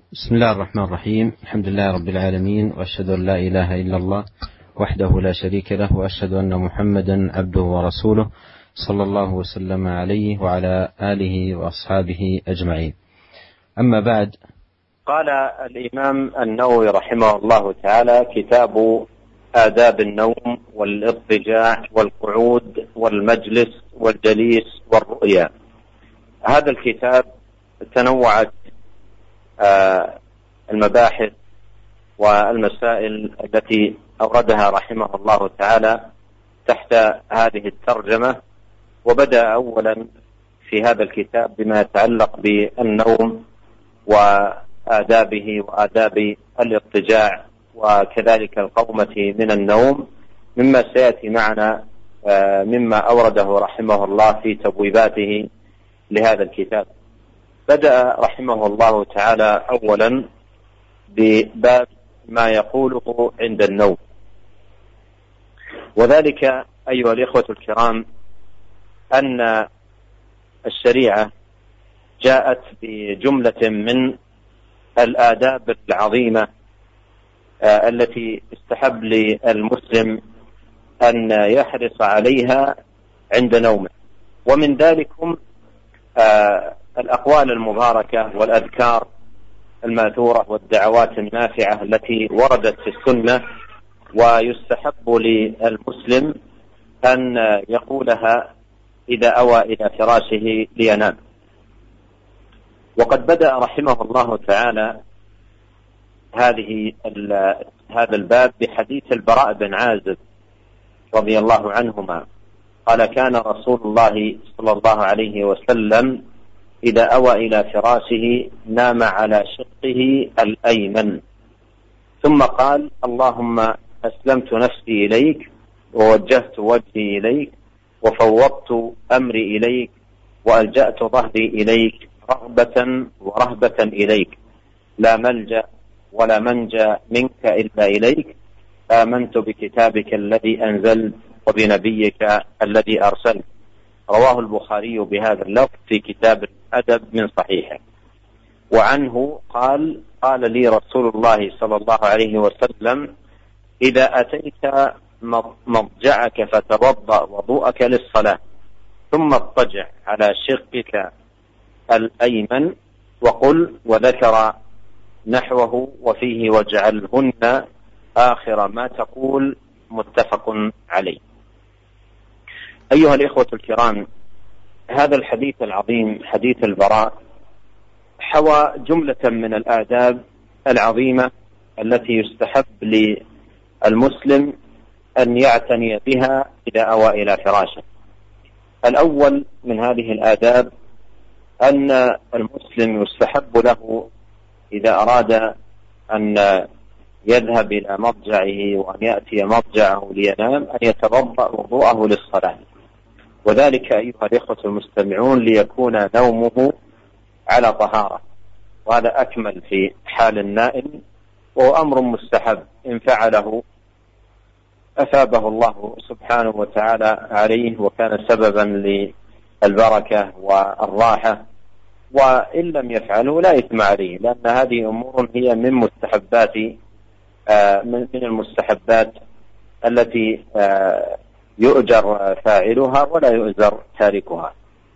بسم الله الرحمن الرحيم. الحمد لله رب العالمين، وأشهد أن لا إله إلا الله وحده لا شريك له، وأشهد أن محمدا عبده ورسوله صلى الله وسلم عليه وعلى آله وأصحابه أجمعين. أما بعد، قال الإمام النووي رحمه الله تعالى: كتاب آداب النوم والاضطجاع والقعود والمجلس والجليس والرؤيا. هذا الكتاب تنوعت المباحث والمسائل التي أوردها رحمه الله تعالى تحت هذه الترجمة، وبدأ أولا في هذا الكتاب بما يتعلق بالنوم وآدابه وآداب الاضطجاع وكذلك القومة من النوم، مما سيأتي معنا مما أورده رحمه الله في تبويباته لهذا الكتاب. بدأ رحمه الله تعالى أولا بباب ما يقوله عند النوم، وذلك أيها الإخوة الكرام أن الشريعة جاءت بجملة من الآداب العظيمة التي استحب للمسلم أن يحرص عليها عند نومه، ومن ذلكم الأقوال المباركة والأذكار الماثورة والدعوات النافعة التي وردت في السنة، ويستحب للمسلم أن يقولها إذا أوى إلى فراشه لينام. وقد بدأ رحمه الله تعالى هذا الباب بحديث البراء بن عازب رضي الله عنهما قال: كان رسول الله صلى الله عليه وسلم إذا أوى إلى فراشه نام على شقه الأيمن، ثم قال: اللهم أسلمت نفسي إليك ووجهت وجهي إليك وفوضت أمري إليك وألجأت ظهري إليك رغبة ورهبة إليك، لا ملجأ ولا منجى منك إلا إليك، آمنت بكتابك الذي أنزلت وبنبيك الذي أرسلت. رواه البخاري بهذا اللفظ في كتاب الأدب من صحيحه. وعنه قال: قال لي رسول الله صلى الله عليه وسلم: إذا أتيت مضجعك فتوضأ وضوءك للصلاة، ثم اضطجع على شقك الأيمن وقل، وذكر نحوه وفيه واجعلهن آخر ما تقول، متفق عليه. أيها الإخوة الكرام، هذا الحديث العظيم حديث البراء حوى جملة من الآداب العظيمة التي يستحب للمسلم أن يعتني بها إذا أوى إلى فراشه. الأول من هذه الآداب أن المسلم يستحب له إذا أراد أن يذهب إلى مضجعه وأن يأتي مضجعه لينام أن يتوضأ وضوءه للصلاة، وذلك أيها الإخوة المستمعون ليكون نومه على طهارة، وهذا أكمل في حال النائم، وهو أمر مستحب إن فعله أثابه الله سبحانه وتعالى عليه وكان سببا للبركة والراحة، وإن لم يفعله لا إثم عليه، لأن هذه أمور هي من مستحبات من المستحبات التي يؤجر فاعلها ولا يؤجر تاركها.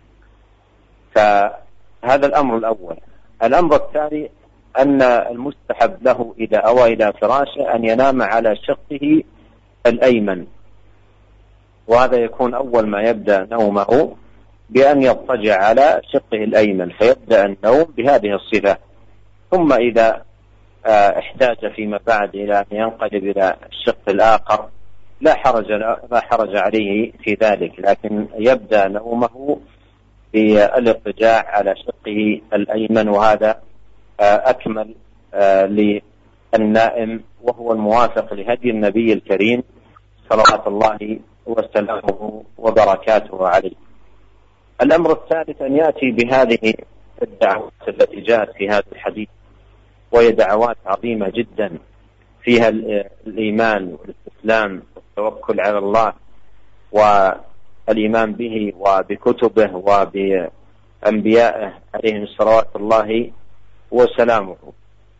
فهذا الأمر الأول. الأمر الثاني أن المستحب له إذا أوى إلى فراشه أن ينام على شقه الأيمن، وهذا يكون أول ما يبدأ نومه بأن يضطجع على شقه الأيمن، فيبدأ النوم بهذه الصفة. ثم إذا احتاج فيما بعد إلى أن ينقلب إلى الشق الآخر لا حرج عليه في ذلك، لكن يبدأ نومه بالاضطجاع على شقه الأيمن، وهذا أكمل للنائم، وهو الموافق لهدي النبي الكريم صلوات الله وسلامه وبركاته عليه. الأمر الثالث أن يأتي بهذه الدعوات التي جاءت في هذا الحديث، وهي دعوات عظيمة جدا فيها الإيمان والاستسلام والتوكل على الله والإيمان به وبكتبه وبأنبيائه عليهم صلوات الله وسلامه.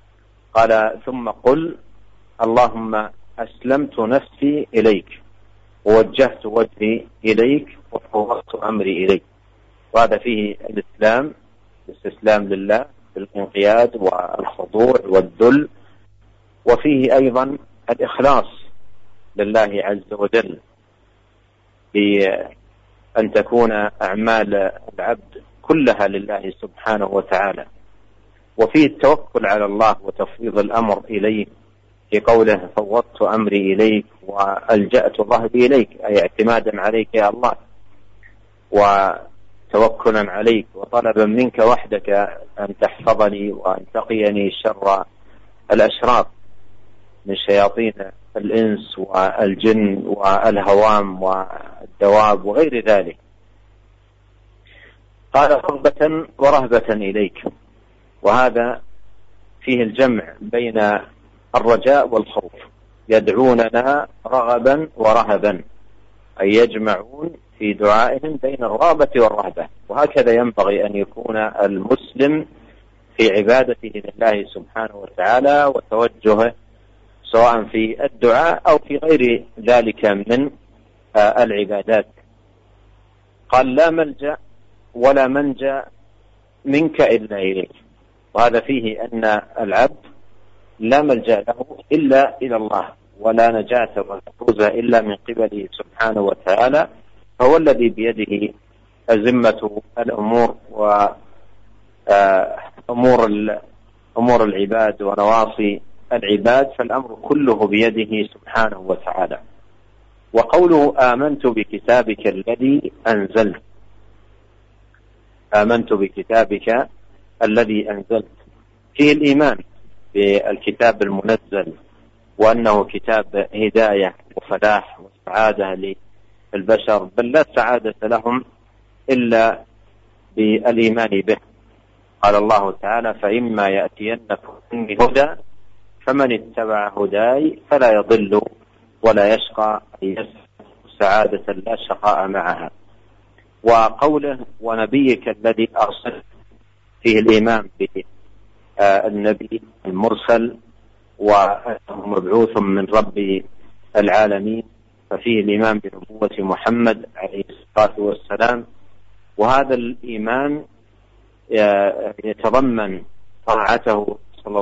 قال ثم قل اللهم أسلمت نفسي إليك ووجهت وجهي إليك وفوضت أمري إليك. وهذا فيه الإسلام، الاستسلام لله بالانقياد والخضوع والذل، وفيه أيضا الإخلاص لله عز وجل بأن تكون أعمال العبد كلها لله سبحانه وتعالى. وفيه التوكل على الله وتفويض الأمر إليه في قوله فوضت أمري إليك وألجأت ظهري إليك، أي اعتمادا عليك يا الله وتوكلا عليك وطلبا منك وحدك أن تحفظني وأن تقيني شر الأشرار من شياطين الإنس والجن والهوام والدواب وغير ذلك. قال رغبة ورهبة إليك، وهذا فيه الجمع بين الرجاء والخوف، يدعوننا رغبا ورهبا، أي يجمعون في دعائهم بين الرغبة والرهبة. وهكذا ينبغي أن يكون المسلم في عبادته لله سبحانه وتعالى وتوجهه سواء في الدعاء أو في غير ذلك من العبادات. قال لا ملجأ ولا منجأ منك إلا إليك، وهذا فيه أن العبد لا ملجأ له إلا إلى الله، ولا نجاة ولا فوز إلا من قبله سبحانه وتعالى، فهو الذي بيده أزمة الأمور وأمور العباد ونواصي العباد، فالأمر كله بيده سبحانه وتعالى. وقوله آمنت بكتابك الذي أنزلت، آمنت بكتابك الذي أنزلت فيه الإيمان بالكتاب المنزل، وأنه كتاب هداية وفلاح وسعادة للبشر، بل لا سعادة لهم إلا بالإيمان به. قال الله تعالى فإما يأتينكم مني هدى فمن اتبع هداي فلا يضل ولا يشقى، سعادة لا شقاء معها. وقوله ونبيك الذي أرسلت فيه الإيمان بالنبي المرسل وأنه مبعوث من رب العالمين، ففيه الإيمان بنبوة محمد عليه الصلاة والسلام. وهذا الإيمان يتضمن طاعته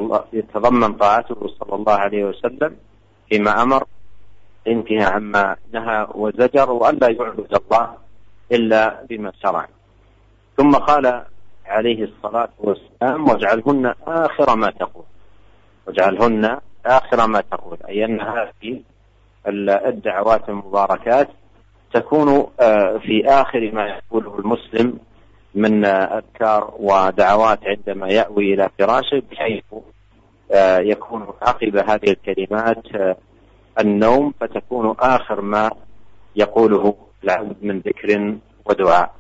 صلى الله عليه وسلم فيما أمر، انتهى عما نهى وزجر، وأن لا يعبد الله إلا بما شرع. ثم قال عليه الصلاة والسلام واجعلهن آخر ما تقول، واجعلهن آخر ما تقول، أي أن هذه الدعوات المباركات تكون في آخر ما يقوله المسلم من أذكار ودعوات عندما يأوي إلى فراشه، بحيث يكون عقب هذه الكلمات النوم، فتكون آخر ما يقوله العبد من ذكر ودعاء.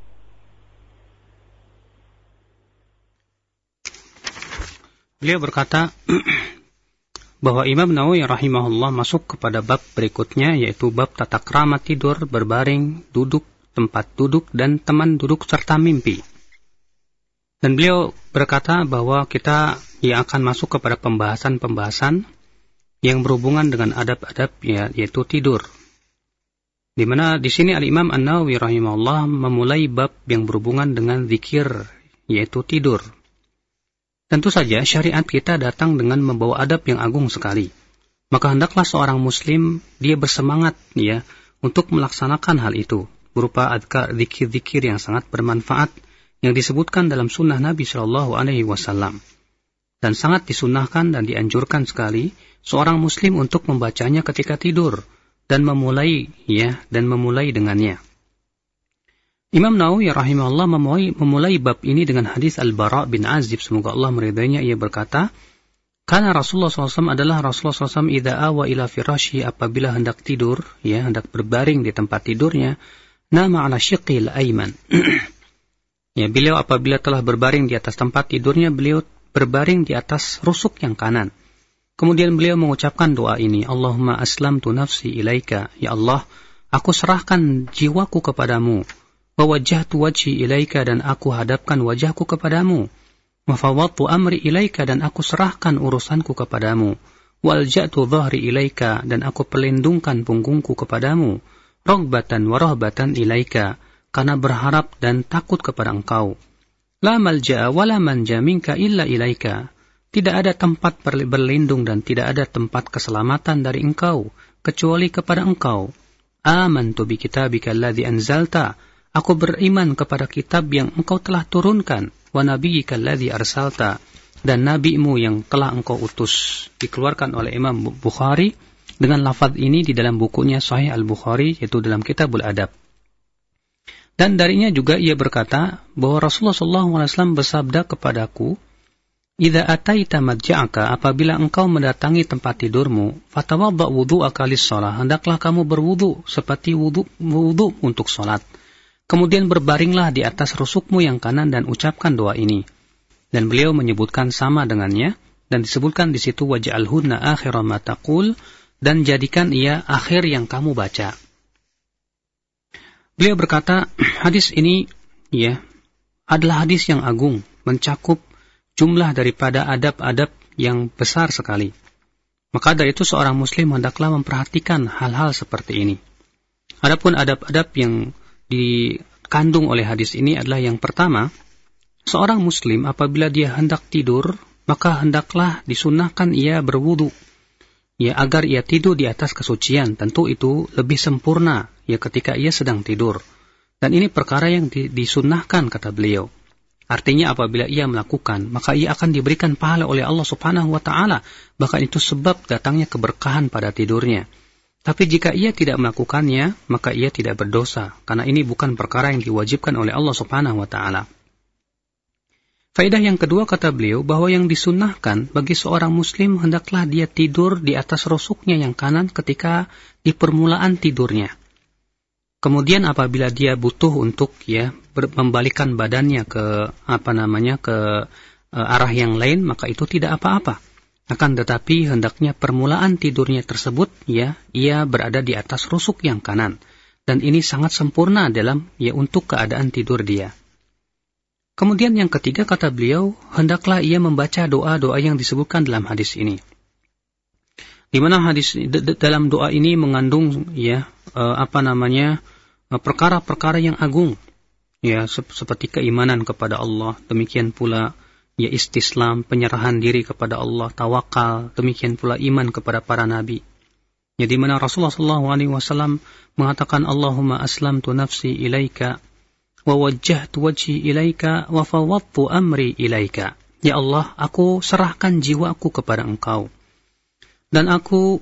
Beliau berkata bahwa Imam Nawawi rahimahullah masuk kepada bab berikutnya, yaitu bab tata krama tidur, berbaring, duduk, tempat duduk, dan teman duduk serta mimpi. Dan beliau berkata bahwa kita akan masuk kepada pembahasan-pembahasan yang berhubungan dengan adab-adab, yaitu tidur. Di mana di sini Al-Imam An-Nawawi rahimahullah memulai bab yang berhubungan dengan zikir, yaitu tidur. Tentu saja syariat kita datang dengan membawa adab yang agung sekali. Maka hendaklah seorang muslim dia bersemangat untuk melaksanakan hal itu, berupa adkar, zikir-zikir yang sangat bermanfaat yang disebutkan dalam sunnah Nabi Shallallahu Alaihi Wasallam, dan sangat disunnahkan dan dianjurkan sekali seorang muslim untuk membacanya ketika tidur dan memulai dengannya. Imam Nawawi rahimahullah memulai bab ini dengan hadis Al-Bara bin Azib, semoga Allah meridainya. Ia berkata, karena Rasulullah SAW adalah Rasulullah SAW idza awa ila firasyi, apabila hendak tidur, hendak berbaring di tempat tidurnya, nama ala syiqil aiman. Beliau apabila telah berbaring di atas tempat tidurnya, beliau berbaring di atas rusuk yang kanan. Kemudian beliau mengucapkan doa ini, Allahumma aslamtu nafsi ilaika, ya Allah, aku serahkan jiwaku kepadamu. Wa wajjahtu wajhi ilaika, dan aku hadapkan wajahku kepadamu. Wa fawwadtu amri ilaika, dan aku serahkan urusanku kepadamu. Walja'tu dhahri ilaika, dan aku pelindungkan punggungku kepadamu. Raghbatan wa rahbatan ilaika, karena berharap dan takut kepada engkau. La malja'a wa la manja minka illa ilaika. Tidak ada tempat berlindung dan tidak ada tempat keselamatan dari engkau kecuali kepada engkau. Amantu bi kitabika alladhi anzalta. Aku beriman kepada kitab yang engkau telah turunkan. Wa nabiyyika alladhi arsalta. Dan nabimu yang telah engkau utus. Dikeluarkan oleh Imam Bukhari dengan lafaz ini di dalam bukunya Sahih Al-Bukhari, yaitu dalam Kitabul Adab. Dan darinya juga ia berkata bahwa Rasulullah SAW bersabda kepadaku, "Idza ataita madja'aka, apabila engkau mendatangi tempat tidurmu, fatawadda wudhu'aka lis-shalah, hendaklah kamu berwudu seperti wudu untuk salat. Kemudian berbaringlah di atas rusukmu yang kanan dan ucapkan doa ini." Dan beliau menyebutkan sama dengannya, dan disebutkan di situ waj'alhunna akhira ma taqul, dan jadikan ia akhir yang kamu baca. Beliau berkata, hadis ini adalah hadis yang agung, mencakup jumlah daripada adab-adab yang besar sekali. Maka dari itu seorang muslim hendaklah memperhatikan hal-hal seperti ini. Adapun adab-adab yang dikandung oleh hadis ini adalah yang pertama, seorang muslim apabila dia hendak tidur, maka hendaklah disunnahkan ia berwudu, agar ia tidur di atas kesucian. Tentu itu lebih sempurna, ketika ia sedang tidur. Dan ini perkara yang disunnahkan, kata beliau. Artinya apabila ia melakukan, maka ia akan diberikan pahala oleh Allah Subhanahu wa Ta'ala. Bahkan itu sebab datangnya keberkahan pada tidurnya. Tapi jika ia tidak melakukannya, maka ia tidak berdosa, karena ini bukan perkara yang diwajibkan oleh Allah Subhanahu wa Ta'ala. Faedah yang kedua, kata beliau, bahwa yang disunnahkan bagi seorang muslim hendaklah dia tidur di atas rusuknya yang kanan ketika di permulaan tidurnya. Kemudian apabila dia butuh untuk membalikkan badannya ke arah yang lain, maka itu tidak apa-apa. Akan tetapi hendaknya permulaan tidurnya tersebut ia berada di atas rusuk yang kanan, dan ini sangat sempurna dalam untuk keadaan tidur dia. Kemudian yang ketiga, kata beliau, hendaklah ia membaca doa-doa yang disebutkan dalam hadis ini. Di mana hadis dalam doa ini mengandung perkara-perkara yang agung, seperti keimanan kepada Allah, demikian pula istislam, penyerahan diri kepada Allah, tawakal, demikian pula iman kepada para nabi. Di mana Rasulullah SAW mengatakan, Allahumma aslamtu nafsi ilaika wa wajjahtu wajhi ilaika wa fawwadtu amri ilaika. Ya Allah, aku serahkan jiwaku kepada Engkau, dan aku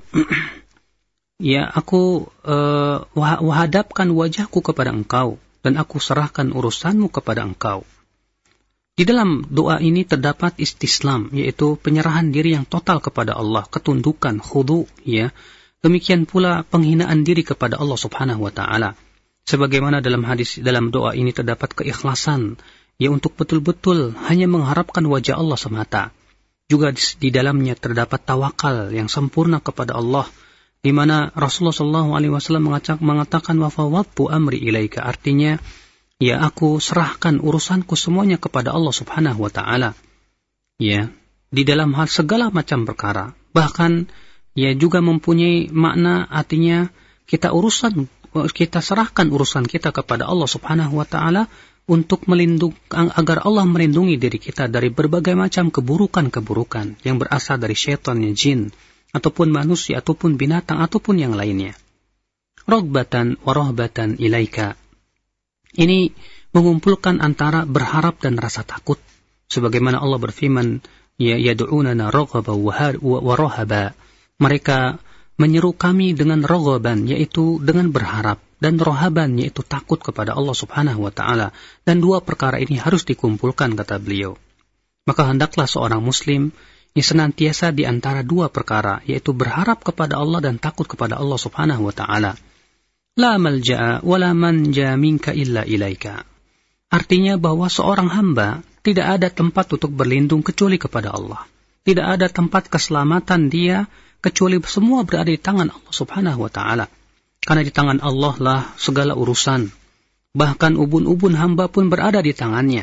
hadapkan wajahku kepada Engkau, dan aku serahkan urusanmu kepada Engkau. Di dalam doa ini terdapat istislam, yaitu penyerahan diri yang total kepada Allah, ketundukan, khudu, demikian pula penghinaan diri kepada Allah Subhanahu wa Ta'ala. Sebagaimana dalam doa ini terdapat keikhlasan, untuk betul-betul hanya mengharapkan wajah Allah semata. Juga di dalamnya terdapat tawakal yang sempurna kepada Allah, di mana Rasulullah SAW mengatakan wa fawwadtu amri ilaika, artinya aku serahkan urusanku semuanya kepada Allah Subhanahu wa Ta'ala. Di dalam hal segala macam perkara. Bahkan juga mempunyai makna, artinya kita serahkan urusan kita kepada Allah Subhanahu wa Ta'ala untuk agar Allah melindungi diri kita dari berbagai macam keburukan-keburukan yang berasal dari syaitan, jin, ataupun manusia, ataupun binatang, ataupun yang lainnya. Raghbatan wa rahbatan ilaika. Ini mengumpulkan antara berharap dan rasa takut. Sebagaimana Allah berfirman, yad'unana raghaban wa rahaba. Mereka menyeru kami dengan raghaban, yaitu dengan berharap, dan rahaban, yaitu takut kepada Allah Subhanahu wa Ta'ala. Dan dua perkara ini harus dikumpulkan, kata beliau. Maka hendaklah seorang muslim senantiasa di antara dua perkara, yaitu berharap kepada Allah dan takut kepada Allah Subhanahu wa Ta'ala. La malja'a wa la manja minka illa ilaika. Artinya bahwa seorang hamba tidak ada tempat untuk berlindung kecuali kepada Allah. Tidak ada tempat keselamatan dia kecuali semua berada di tangan Allah Subhanahu wa Ta'ala. Karena di tangan Allah lah segala urusan. Bahkan ubun-ubun hamba pun berada di tangannya.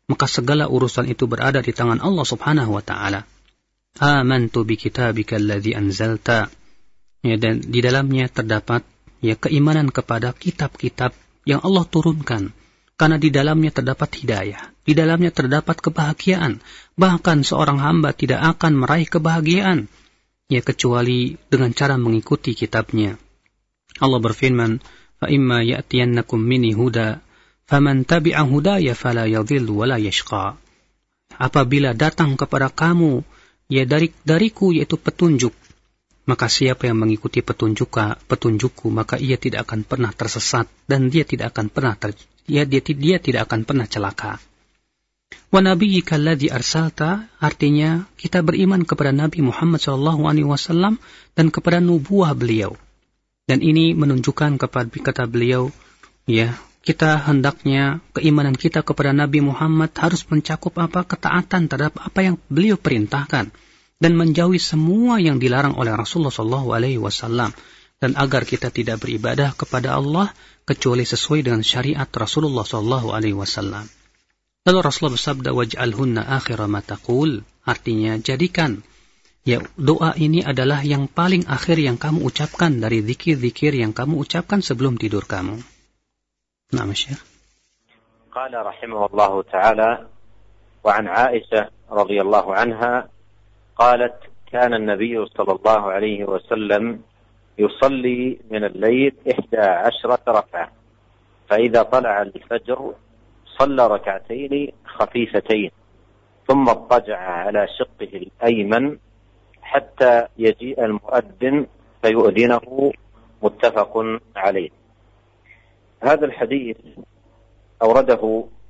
maka segala urusan itu berada di tangan Allah Subhanahu wa taala. Amantu bi kitabika alladzi anzalta. Ya, dan di dalamnya terdapat keimanan kepada kitab-kitab yang Allah turunkan. Karena di dalamnya terdapat hidayah, di dalamnya terdapat kebahagiaan. Bahkan seorang hamba tidak akan meraih kebahagiaan kecuali dengan cara mengikuti kitabnya. Allah berfirman, "Fa imma ya'tiyannakum minni huda, faman tabi'a hudaya fala yadhillu wa la yashqa." Apabila datang kepada kamu dariku yaitu petunjuk, maka siapa yang mengikuti petunjukku, maka ia tidak akan pernah tersesat dan dia tidak akan pernah dia tidak akan pernah celaka. Wa nabiyyika alladzi arsalta, artinya kita beriman kepada Nabi Muhammad SAW dan kepada nubuah beliau. Dan ini menunjukkan kepada kata beliau, kita hendaknya keimanan kita kepada Nabi Muhammad harus mencakup ketaatan terhadap apa yang beliau perintahkan dan menjauhi semua yang dilarang oleh Rasulullah SAW. Dan agar kita tidak beribadah kepada Allah kecuali sesuai dengan syariat Rasulullah SAW. Lalu Rasulullah bersabda, waj'alhunna akhira ma taqul, artinya jadikan doa ini adalah yang paling akhir yang kamu ucapkan dari zikir-zikir yang kamu ucapkan sebelum tidur kamu. Naam, Syekh. Qala rahimahullahu ta'ala wa an Aisyah radhiyallahu anha qalat kana an-nabiy sallallahu alaihi wasallam يصلي من الليل 11 ركعة فإذا طلع الفجر صلى ركعتين خفيفتين ثم اضطجع على شقه الأيمن حتى يجيء المؤذن فيؤذنه متفق عليه. هذا الحديث أورده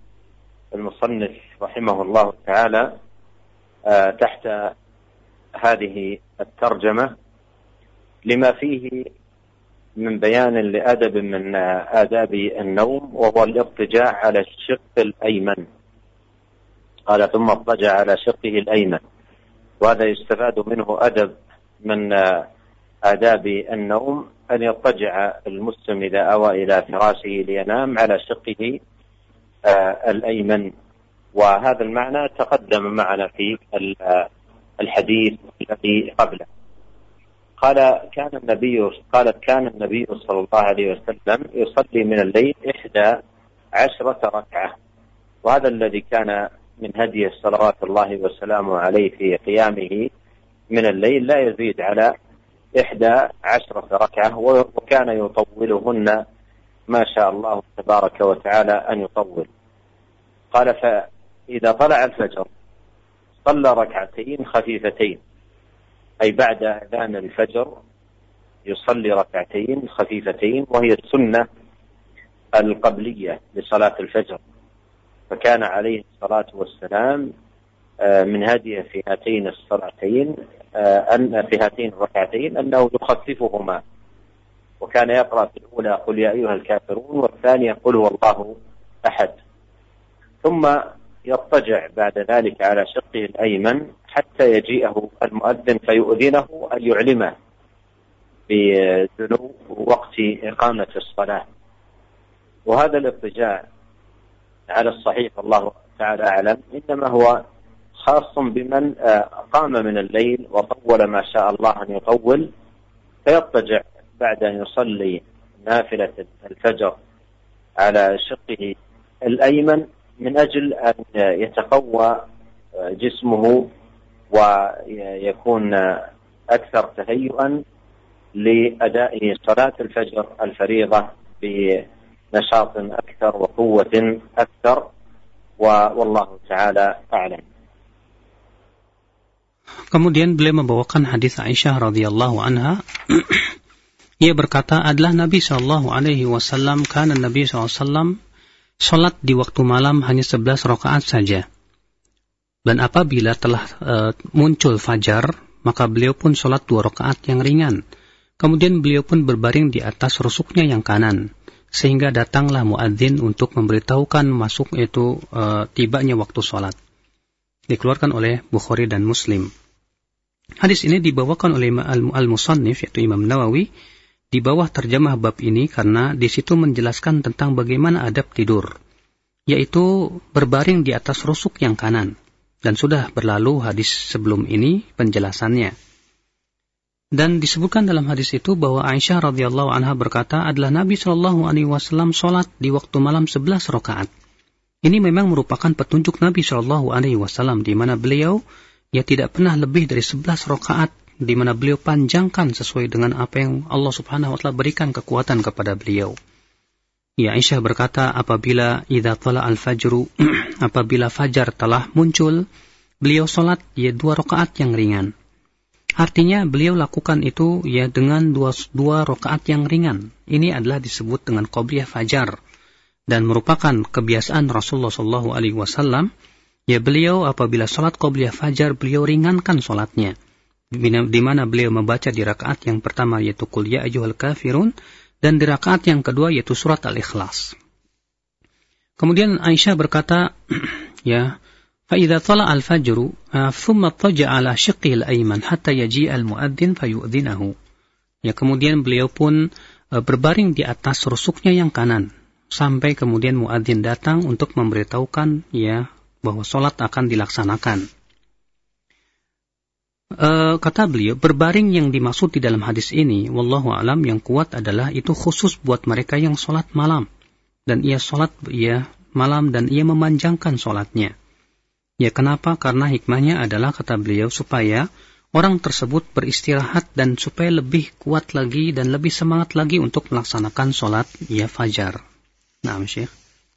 المصنف رحمه الله تعالى تحت هذه الترجمة لما فيه من بيان لأدب من آداب النوم وهو الاضطجاع على الشق الأيمن. قال ثم اضطجع على شقه الأيمن، وهذا يستفاد منه أدب من آداب النوم أن يضطجع المسلم إذا أوى إلى فراشه لينام على شقه الأيمن، وهذا المعنى تقدم معنا في الحديث الذي قبله. قالت كان النبي صلى الله عليه وسلم يصلي من الليل 11 ركعة، وهذا الذي كان من هديه صلوات الله وسلامه عليه في قيامه من الليل لا يزيد على 11 ركعة، وكان يطولهن ما شاء الله تبارك وتعالى أن يطول. قال فإذا طلع الفجر صلى ركعتين خفيفتين، أي بعد أذان الفجر يصلي ركعتين خفيفتين، وهي السنة القبلية لصلاة الفجر، فكان عليه الصلاة والسلام من هديه في هاتين الصلاتين في هاتين الركعتين أنه يخففهما، وكان يقرأ في الأولى قل يا أيها الكافرون، والثانية قل هو الله أحد، ثم يضطجع بعد ذلك على شقه الأيمن حتى يجيئه المؤذن فيؤذنه أن يعلمه بدنو وقت إقامة الصلاة. وهذا الاضطجاع على الصحيح الله تعالى أعلم إنما هو خاص بمن قام من الليل وطول ما شاء الله أن يطول، فيضطجع بعد أن يصلي نافلة الفجر على شقه الأيمن من أجل أن يتقوى جسمه ويكون أكثر تهيئا لأداء صلاة الفجر الفريضة بنشاط أكثر وقوة أكثر، والله تعالى أعلم. Kemudian beliau membawakan hadis Aisyah radhiyallahu anha. Ia berkata, adalah Nabi SAW, karena Nabi SAW salat di waktu malam hanya 11 rakaat saja. Dan apabila telah muncul fajar, maka beliau pun salat 2 rakaat yang ringan. Kemudian beliau pun berbaring di atas rusuknya yang kanan, sehingga datanglah muadzin untuk memberitahukan masuk itu tibanya waktu salat. Dikeluarkan oleh Bukhari dan Muslim. Hadis ini dibawakan oleh Al-Musannif, yaitu Imam Nawawi, di bawah terjemah bab ini karena di situ menjelaskan tentang bagaimana adab tidur. yaitu berbaring di atas rusuk yang kanan. Dan sudah berlalu hadis sebelum ini penjelasannya. Dan disebutkan dalam hadis itu bahwa Aisyah radhiyallahu anha berkata adalah Nabi SAW sholat di waktu malam 11 rakaat. Ini memang merupakan petunjuk Nabi SAW di mana beliau tidak pernah lebih dari 11 rakaat, di mana beliau panjangkan sesuai dengan apa yang Allah Subhanahu wa taala berikan kekuatan kepada beliau. Aisyah berkata apabila idza tala al-fajru apabila fajar telah muncul, beliau sholat 2 rakaat yang ringan. Artinya beliau lakukan itu dengan dua rakaat yang ringan. Ini adalah disebut dengan qobliyah fajar dan merupakan kebiasaan Rasulullah SAW. Beliau apabila sholat qobliyah fajar beliau ringankan sholatnya, di mana beliau membaca di rakaat yang pertama yaitu Qul ya ayyuhal kafirun, dan di rakaat yang kedua yaitu surat Al-Ikhlas. Kemudian Aisyah berkata, فَإِذَا طَلَعَ الْفَجْرُ ثُمَّ اضْطَجَعَ عَلَى شِقِّهِ الْأَيْمَنِ حَتَّى يَجِيءَ الْمُؤَذِّنُ فَيُؤْذِنَهُ. Kemudian beliau pun berbaring di atas rusuknya yang kanan sampai kemudian muadzin datang untuk memberitahukan bahwa salat akan dilaksanakan. Kata beliau, berbaring yang dimaksud di dalam hadis ini, wallahu alam, yang kuat adalah itu khusus buat mereka yang salat malam. Dan ia salat malam dan ia memanjangkan salatnya. Kenapa? Karena hikmahnya adalah, kata beliau, supaya orang tersebut beristirahat dan supaya lebih kuat lagi dan lebih semangat lagi untuk melaksanakan salat fajar. Naam, Syekh.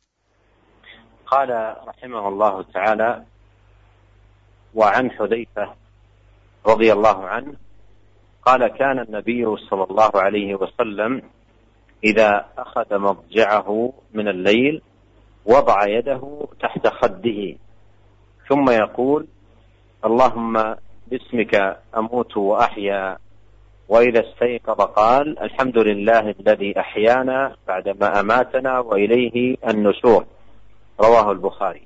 Qala rahimahullahu ta'ala wa an Hudzaifah radhiyallahu anhu qala kana an-nabiy sallallahu alayhi wa sallam idza akhadha madja'ahu min al-layl wada'a yadahu tahta khaddihi ثم يقول اللهم باسمك أموت وأحيا وإذا استيقظ قال الحمد لله الذي أحيانا بعدما أماتنا وإليه النشور رواه البخاري.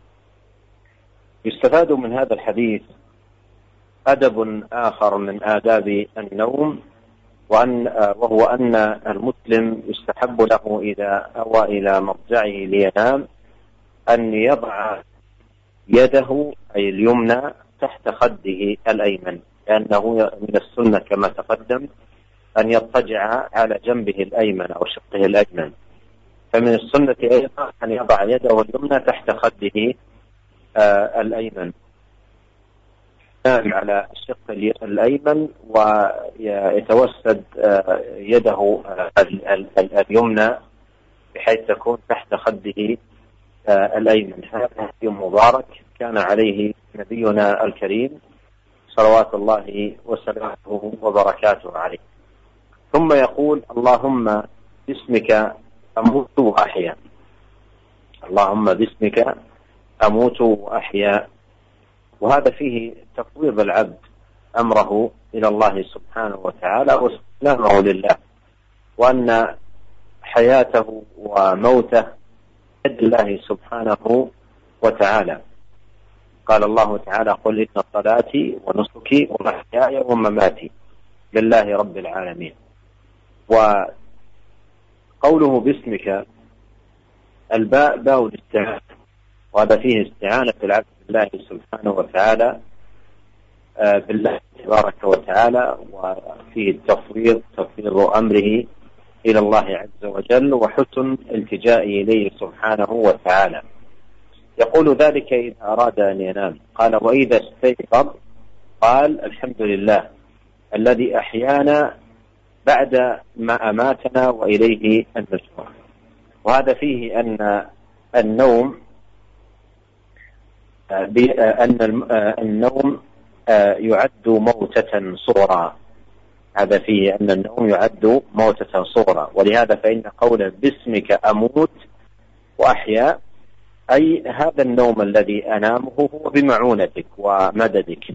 يستفاد من هذا الحديث أدب آخر من آداب النوم وهو أن المسلم يستحب له إذا أوى إلى مضجعه لينام أن يضع يده أي اليمنى تحت خده الأيمن، لأنه من السنة كما تقدم أن يضطجع على جنبه الأيمن أو شقه الأيمن، فمن السنة أيضا أن يضع يده اليمنى تحت خده الأيمن على الشق الأيمن ويتوسد يده اليمنى بحيث تكون تحت خده الأيمن. هذا هدي مبارك كان عليه نبينا الكريم صلوات الله وسلامه وبركاته عليه. ثم يقول اللهم باسمك أموت وأحيا، اللهم باسمك أموت وأحيا، وهذا فيه تفويض العبد أمره إلى الله سبحانه وتعالى واستسلامه لله، وأن حياته وموته بيد الله سبحانه وتعالى. قال الله تعالى قل إن صلاتي ونسكي ومحياي ومماتي لله رب العالمين. وقوله باسمك الباء باء الاستعانة، وهذا فيه استعانة العبد بالله سبحانه وتعالى بالله تبارك وتعالى، وفيه تفويض أمره إلى الله عز وجل وحسن التجاء إليه سبحانه وتعالى. يقول ذلك إذا أراد أن ينام. قال وإذا استيقظ قال الحمد لله الذي أحيانا بعد ما أماتنا وإليه النشور. وهذا فيه أن النوم يعد موتة صغرى، هذا فيه أن النوم يعد موتة صغرى، ولهذا فإن قول باسمك أموت وأحيا أي هذا النوم الذي أنامه هو بمعونتك ومددك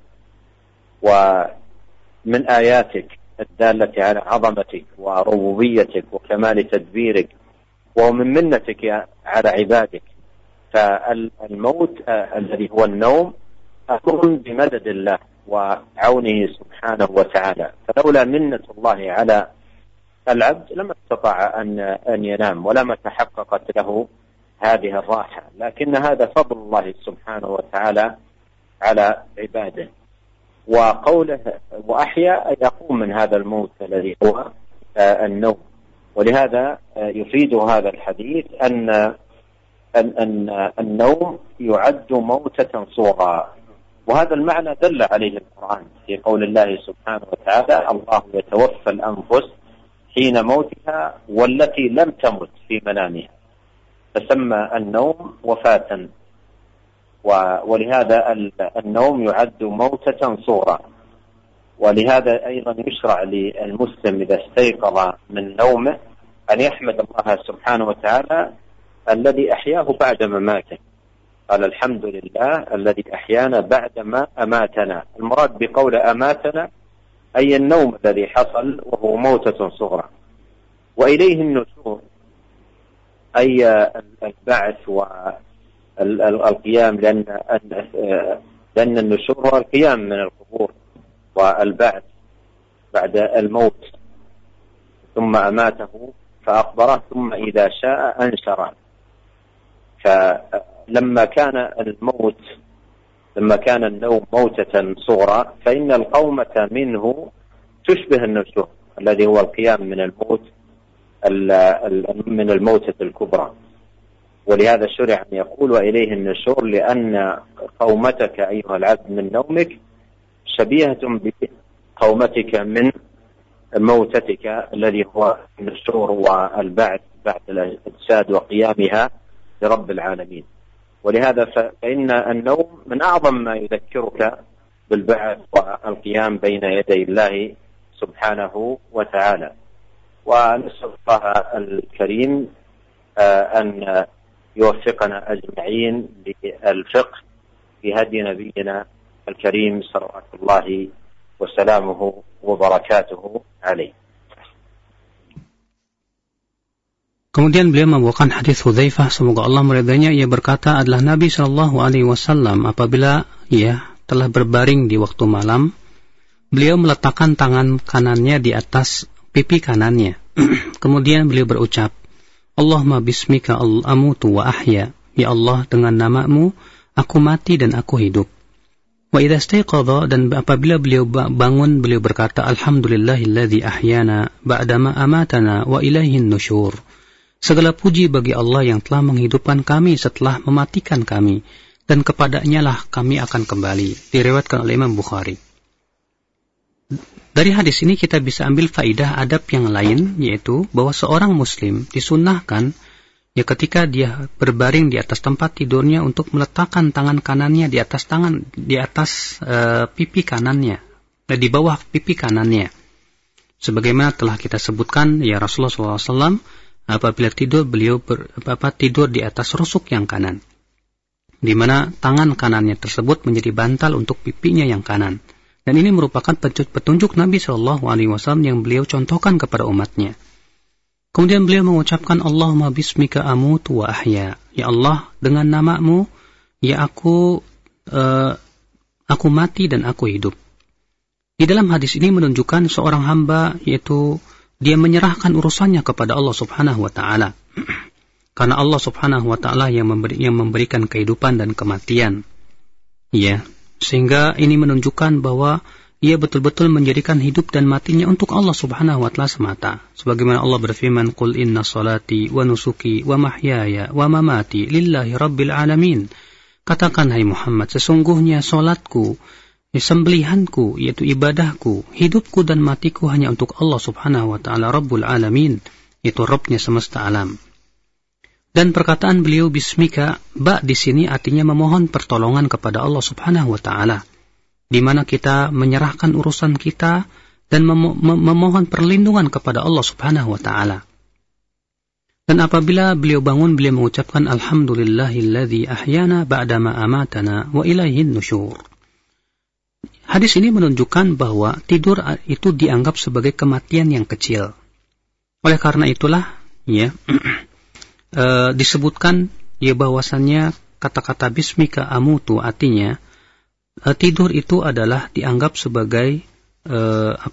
ومن آياتك الدالة على عظمتك وربوبيتك وكمال تدبيرك ومن منتك على عبادك. فالموت الذي هو النوم أمر بمدد الله وعونه سبحانه وتعالى، فلولا منة الله على العبد لما استطاع أن ينام ولما تحققت له هذه الراحة، لكن هذا فضل الله سبحانه وتعالى على عباده. وقوله وأحيا أي يقوم من هذا الموت الذي هو النوم. ولهذا يفيد هذا الحديث أن النوم يعد موتة صغرى، وهذا المعنى دل عليه القرآن في قول الله سبحانه وتعالى: الله يتوفى الأنفس حين موتها والتي لم تمت في منامها، فسمى النوم وفاة. ولهذا النوم يعد موتة صغرى. ولهذا أيضا يشرع للمسلم إذا استيقظ من نومه أن يحمد الله سبحانه وتعالى الذي أحياه بعد مماته. قال: الحمد لله الذي أحيانا بعدما أماتنا. المراد بقول أماتنا أي النوم الذي حصل وهو موتة صغرى. وإليه النشور أي البعث والقيام، لأن النشور هو القيام من القبور والبعث بعد الموت، ثم أماته فأقبره ثم إذا شاء أنشره. فلما كان النوم موتة صغرى فإن القومة منه تشبه النشور الذي هو القيام من الموت من الموتة الكبرى. ولهذا شرع أن يقول وإليه النشور، لأن قومتك أيها العبد من نومك شبيهة بقومتك من موتتك الذي هو النشور والبعث بعد الأجساد وقيامها لرب العالمين. ولهذا فإن النوم من أعظم ما يذكرك بالبعث والقيام بين يدي الله سبحانه وتعالى. ونسأل الله الكريم أن يوفقنا أجمعين للفقه في هدي نبينا الكريم صلوات الله وسلامه وبركاته عليه. Kemudian beliau membawakan hadis Hudzaifah, semoga Allah meridainya. Ia berkata, adalah Nabi Shallallahu Alaihi Wasallam apabila ia telah berbaring di waktu malam, beliau meletakkan tangan kanannya di atas pipi kanannya. Kemudian beliau berucap, Allahumma bismika amutu wa ahya. Ya Allah, dengan namamu aku mati dan aku hidup. Wa idza istayqadha, dan apabila beliau bangun beliau berkata, alhamdulillahilladzi ahyana ba'dama amatana wa ilaihin nusyur. Segala puji bagi Allah yang telah menghidupkan kami setelah mematikan kami, dan kepadanya lah kami akan kembali. Diriwayatkan oleh Imam Bukhari. Dari hadis ini kita bisa ambil faidah adab yang lain, yaitu bahwa seorang muslim disunnahkan ya ketika dia berbaring di atas tempat tidurnya untuk meletakkan tangan kanannya di atas pipi kanannya, di bawah pipi kanannya. Sebagaimana telah kita sebutkan, ya Rasulullah SAW apabila tidur beliau tidur di atas rusuk yang kanan, di mana tangan kanannya tersebut menjadi bantal untuk pipinya yang kanan. Dan ini merupakan petunjuk Nabi SAW yang beliau contohkan kepada umatnya. Kemudian beliau mengucapkan Allahumma bismika amutu wa ahya. Ya Allah, dengan namamu ya aku mati dan aku hidup. Di dalam hadis ini menunjukkan seorang hamba, yaitu dia menyerahkan urusannya kepada Allah Subhanahu wa taala. Karena Allah Subhanahu wa taala yang memberikan kehidupan dan kematian. Ya, sehingga ini menunjukkan bahwa ia betul-betul menjadikan hidup dan matinya untuk Allah Subhanahu wa taala semata. Sebagaimana Allah berfirman, "Qul inna salati wa nusuki wa mahyaya wa mamati lillahi rabbil alamin." Katakan hai Muhammad, sesungguhnya salatku, sembelihanku, yaitu ibadahku, hidupku dan matiku hanya untuk Allah Subhanahu wa taala Rabbul Alamin, yaitu Rabbnya semesta alam. Dan perkataan beliau bismika, ba di sini artinya memohon pertolongan kepada Allah Subhanahu wa taala, di mana kita menyerahkan urusan kita dan memohon perlindungan kepada Allah Subhanahu wa taala. Dan apabila beliau bangun, beliau mengucapkan alhamdulillahilladzi ahyana ba'dama amatana wa ilaihin nusyur. Hadis ini menunjukkan bahwa tidur itu dianggap sebagai kematian yang kecil. Oleh karena itulah ya disebutkan ya bahwasannya kata-kata bismika amutu artinya tidur itu adalah dianggap sebagai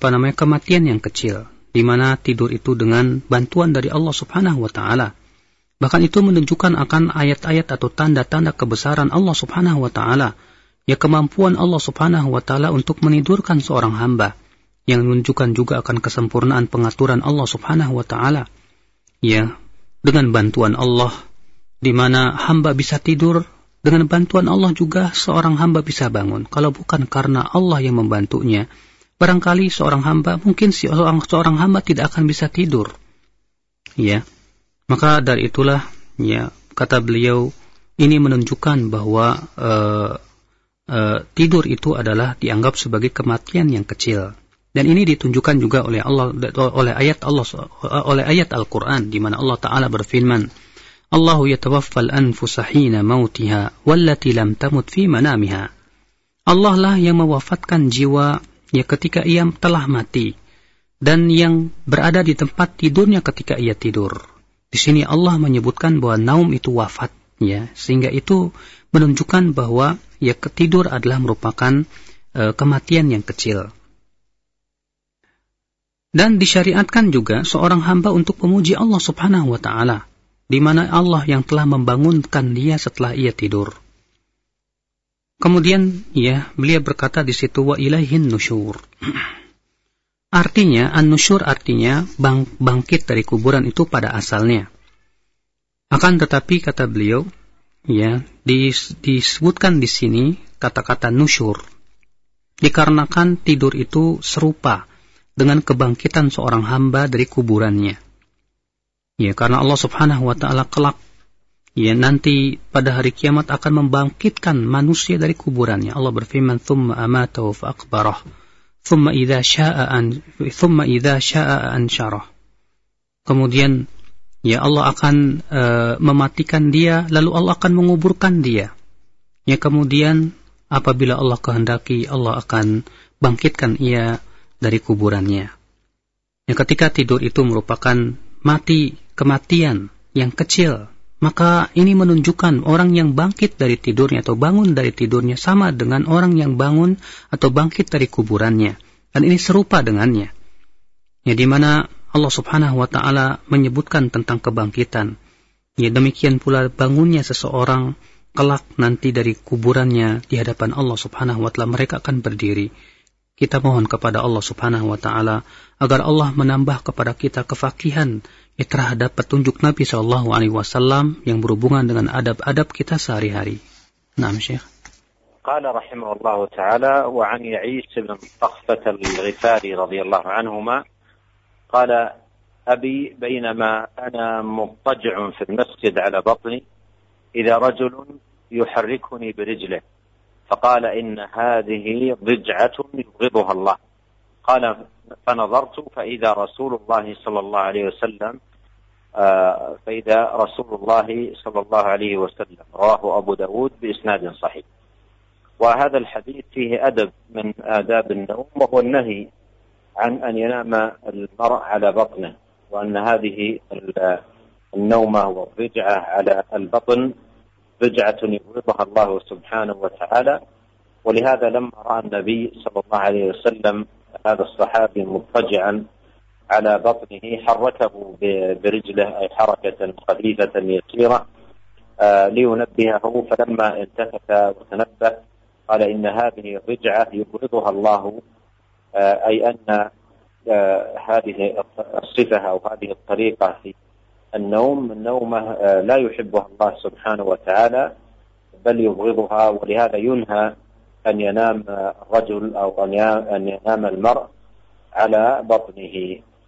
kematian yang kecil, di mana tidur itu dengan bantuan dari Allah Subhanahu wa taala. Bahkan itu menunjukkan akan ayat-ayat atau tanda-tanda kebesaran Allah Subhanahu wa taala, ya kemampuan Allah Subhanahu wa taala untuk menidurkan seorang hamba, yang menunjukkan juga akan kesempurnaan pengaturan Allah Subhanahu wa taala. Ya, dengan bantuan Allah di mana hamba bisa tidur, dengan bantuan Allah juga seorang hamba bisa bangun. Kalau bukan karena Allah yang membantunya, barangkali seorang hamba, mungkin seorang hamba tidak akan bisa tidur. Ya. Maka dari itulah, ya, kata beliau, ini menunjukkan bahwa tidur itu adalah dianggap sebagai kematian yang kecil. Dan ini ditunjukkan juga oleh Allah, oleh ayat Al-Quran, di mana Allah Taala berfirman, Allahu yatawaffal anfusa hina mautiha wallati lam tamut fi manamiha. Allah lah yang mewafatkan jiwa ya ketika ia telah mati, dan yang berada di tempat tidurnya ketika ia tidur. Di sini Allah menyebutkan bahwa naum itu wafat, ya, sehingga itu menunjukkan bahwa ya tidur adalah merupakan kematian yang kecil. Dan disyariatkan juga seorang hamba untuk memuji Allah Subhanahu wa taala, di mana Allah yang telah membangunkan dia setelah ia tidur. Kemudian ya beliau berkata di situ, wa ilaihin nusyur. Artinya, an-nusyur artinya bangkit dari kuburan itu pada asalnya. Akan tetapi kata beliau, ya, disebutkan di sini kata-kata nusyur dikarenakan tidur itu serupa dengan kebangkitan seorang hamba dari kuburannya. Ya, karena Allah Subhanahu wa taala kelak, ya, nanti pada hari kiamat akan membangkitkan manusia dari kuburannya. Allah berfirman, "Tsumma amatahu fa aqbarah." Thumma idza sya'a ansyarah. Kemudian ya Allah akan mematikan dia, lalu Allah akan menguburkan dia. Ya, kemudian apabila Allah kehendaki, Allah akan bangkitkan ia dari kuburannya. Ya, ketika tidur itu merupakan kematian yang kecil, maka ini menunjukkan orang yang bangkit dari tidurnya atau bangun dari tidurnya sama dengan orang yang bangun atau bangkit dari kuburannya. Dan ini serupa dengannya. Ya, di mana Allah Subhanahu wa taala menyebutkan tentang kebangkitan. Ya, demikian pula bangunnya seseorang kelak nanti dari kuburannya di hadapan Allah Subhanahu wa taala, mereka akan berdiri. Kita mohon kepada Allah Subhanahu wa taala agar Allah menambah kepada kita kefakihan terhadap petunjuk Nabi SAW yang berhubungan dengan adab-adab kita sehari-hari. Naam, Syekh. قال رحمه الله تعالى: وعن يعيش بن طخفة الغفاري رضي الله عنهما قال: أبي بينما أنا مضطجع في المسجد على بطني إذا رجل يحركني برجله فقال: إن هذه ضجعة يبغضها الله. قال: فنظرت فإذا رسول الله صلى الله عليه وسلم رواه أبو داود بإسناد صحيح. وهذا الحديث فيه أدب من آداب النوم، وهو النهي عن أن ينام المرء على بطنه، وأن هذه النومة والضجعة على البطن ضجعة يبغضها الله سبحانه وتعالى. ولهذا لما رأى النبي صلى الله عليه وسلم هذا الصحابي مضطجعا على بطنه حركه برجله، أي حركة خفيفة يسيرة لينبهه، فلما التفت وتنبه قال: إن هذه الرجعة يبغضها الله، أي أن هذه الصفة أو هذه الطريقة في النومة لا يحبها الله سبحانه وتعالى بل يبغضها. ولهذا ينهى أن ينام الرجل أو أن ينام المرء على بطنه.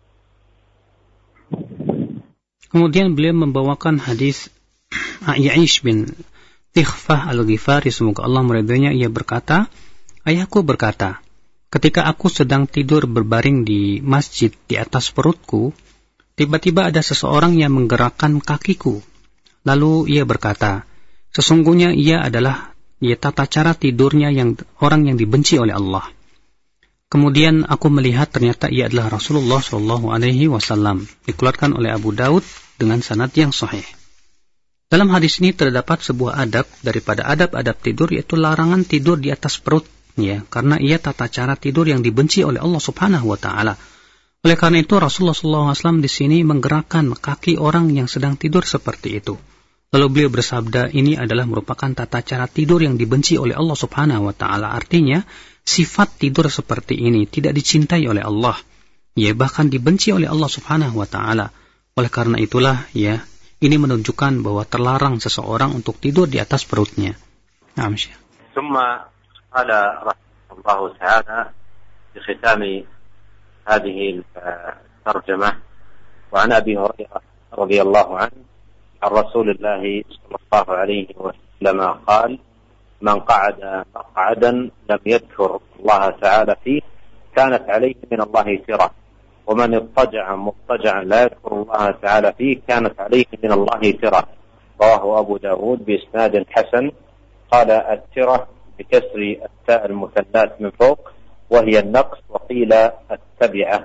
Kemudian beliau membawakan hadis Ya'ish bin Tikhfah al-Ghifari, semoga Allah meridhoinya. Ia berkata, ayahku berkata, ketika aku sedang tidur berbaring di masjid di atas perutku, tiba-tiba ada seseorang yang menggerakkan kakiku. Lalu ia berkata, sesungguhnya ia adalah tata cara tidurnya orang yang dibenci oleh Allah. Kemudian aku melihat ternyata ia adalah Rasulullah SAW. Dikeluarkan oleh Abu Daud dengan sanad yang sahih. Dalam hadis ini terdapat sebuah adab daripada adab-adab tidur, yaitu larangan tidur di atas perut, ya, karena ia tata cara tidur yang dibenci oleh Allah Subhanahu wa taala. Oleh karena itu Rasulullah SAW di sini menggerakkan kaki orang yang sedang tidur seperti itu. Lalu beliau bersabda, ini adalah merupakan tata cara tidur yang dibenci oleh Allah Subhanahu wa taala. Artinya, sifat tidur seperti ini tidak dicintai oleh Allah. Ya, bahkan dibenci oleh Allah Subhanahu wa taala. Oleh karena itulah ya, ini menunjukkan bahwa terlarang seseorang untuk tidur di atas perutnya. Naam, Syekh. ثم قال رحمه الله تعالى في ختام هذه الترجمة وعن أبي هريرة رضي الله عنه عن رسول الله صلى الله عليه وسلم قال من قعد مقعدا لم يذكر الله تعالى فيه كانت عليه من الله ترة ومن اضطجع مضطجعا لا يذكر الله تعالى فيه كانت عليه من الله ترة رواه أبو داود بإسناد حسن قال الترة بكسر التاء المثنات من فوق وهي النقص وقيل التبعة.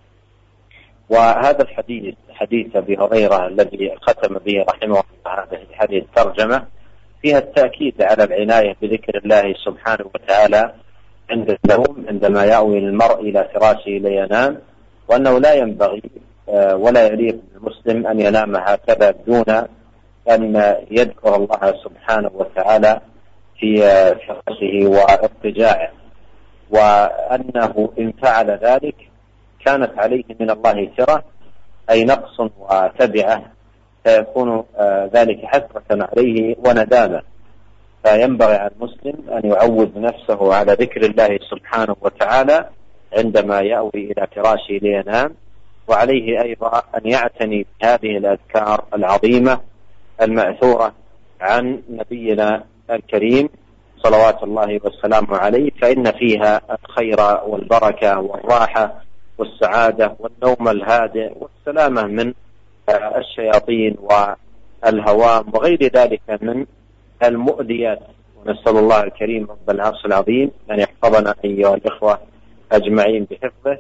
وهذا الحديث حديث أبي هريرة الذي ختم به رحمه الله هذه الترجمة فيها التأكيد على العناية بذكر الله سبحانه وتعالى عند النوم عندما يأوي المرء إلى فراشه لينام وأنه لا ينبغي ولا يليق بالمسلم أن ينام هكذا دون أن يذكر الله سبحانه وتعالى في فراشه واضطجاعه وأنه إن فعل ذلك كانت عليه من الله ترة أي نقص وتبعة فيكون ذلك حسرة عليه وندامة فينبغي على المسلم أن يعود نفسه على ذكر الله سبحانه وتعالى عندما يأوي إلى فراشه لينام وعليه أيضا أن يعتني بهذه الأذكار العظيمة المأثورة عن نبينا الكريم صلوات الله والسلام عليه فإن فيها الخير والبركة والراحة والسعادة والنوم الهادئ والسلامة من الشياطين والهوام وغير ذلك من المؤذيات ونسأل الله الكريم رب العرش العظيم أن يحفظنا أيها الإخوة أجمعين بحفظه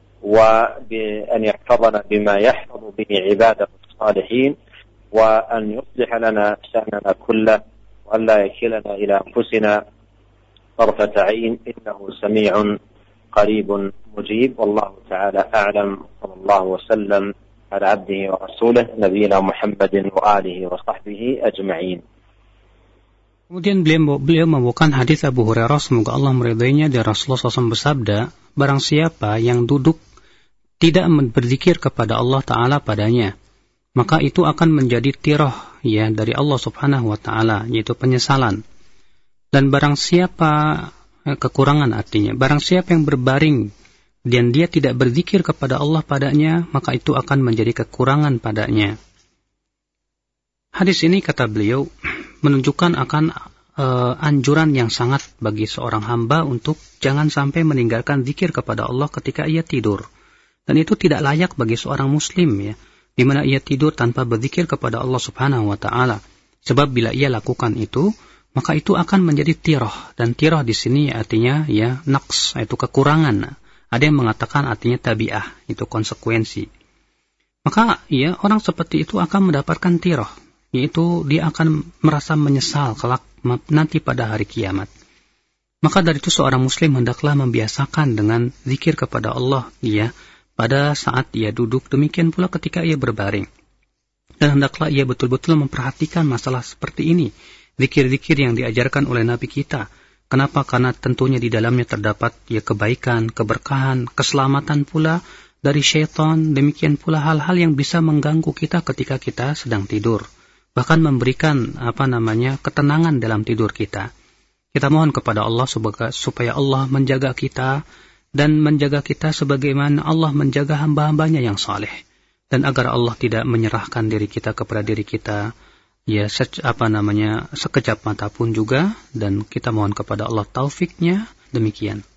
وبأن يحفظنا بما يحفظ به عباده الصالحين وأن يصلح لنا شأننا كله وأن لا يكلنا إلى أنفسنا طرفة عين إنه سميع قريب مجيب والله تعالى أعلم صلى الله وسلم على عبده ورسوله نبينا محمد وآله وصحبه أجمعين. Kemudian beliau membawakan hadis Abu Hurairah, semoga Allah meridainya, dari Rasulullah SAW bersabda, barang siapa yang duduk tidak berzikir kepada Allah Ta'ala padanya, maka itu akan menjadi tirah ya dari Allah Subhanahu wa Ta'ala, yaitu penyesalan. Dan barang siapa, kekurangan artinya, barang siapa yang berbaring dan dia tidak berzikir kepada Allah padanya, maka itu akan menjadi kekurangan padanya. Hadis ini, kata beliau, menunjukkan akan anjuran yang sangat bagi seorang hamba untuk jangan sampai meninggalkan zikir kepada Allah ketika ia tidur. Dan itu tidak layak bagi seorang muslim ya, di mana ia tidur tanpa berzikir kepada Allah Subhanahu wa Ta'ala. Sebab bila ia lakukan itu, maka itu akan menjadi tirah, dan tirah di sini artinya ya naqs, yaitu kekurangan. Ada yang mengatakan artinya tabi'ah, itu konsekuensi. Maka ya orang seperti itu akan mendapatkan tirah, yaitu dia akan merasa menyesal kelak nanti pada hari kiamat. Maka dari itu seorang muslim hendaklah membiasakan dengan zikir kepada Allah ya pada saat ia duduk, demikian pula ketika ia berbaring. Dan hendaklah ia betul-betul memperhatikan masalah seperti ini, zikir-zikir yang diajarkan oleh Nabi kita. Kenapa? Karena tentunya di dalamnya terdapat ya kebaikan, keberkahan, keselamatan pula dari syaitan, demikian pula hal-hal yang bisa mengganggu kita ketika kita sedang tidur. Bahkan memberikan ketenangan dalam tidur kita. Kita mohon kepada Allah supaya Allah menjaga kita dan menjaga kita sebagaimana Allah menjaga hamba-hambanya yang saleh, dan agar Allah tidak menyerahkan diri kita kepada diri kita ya sekejap mata pun juga, dan kita mohon kepada Allah taufiknya. Demikian.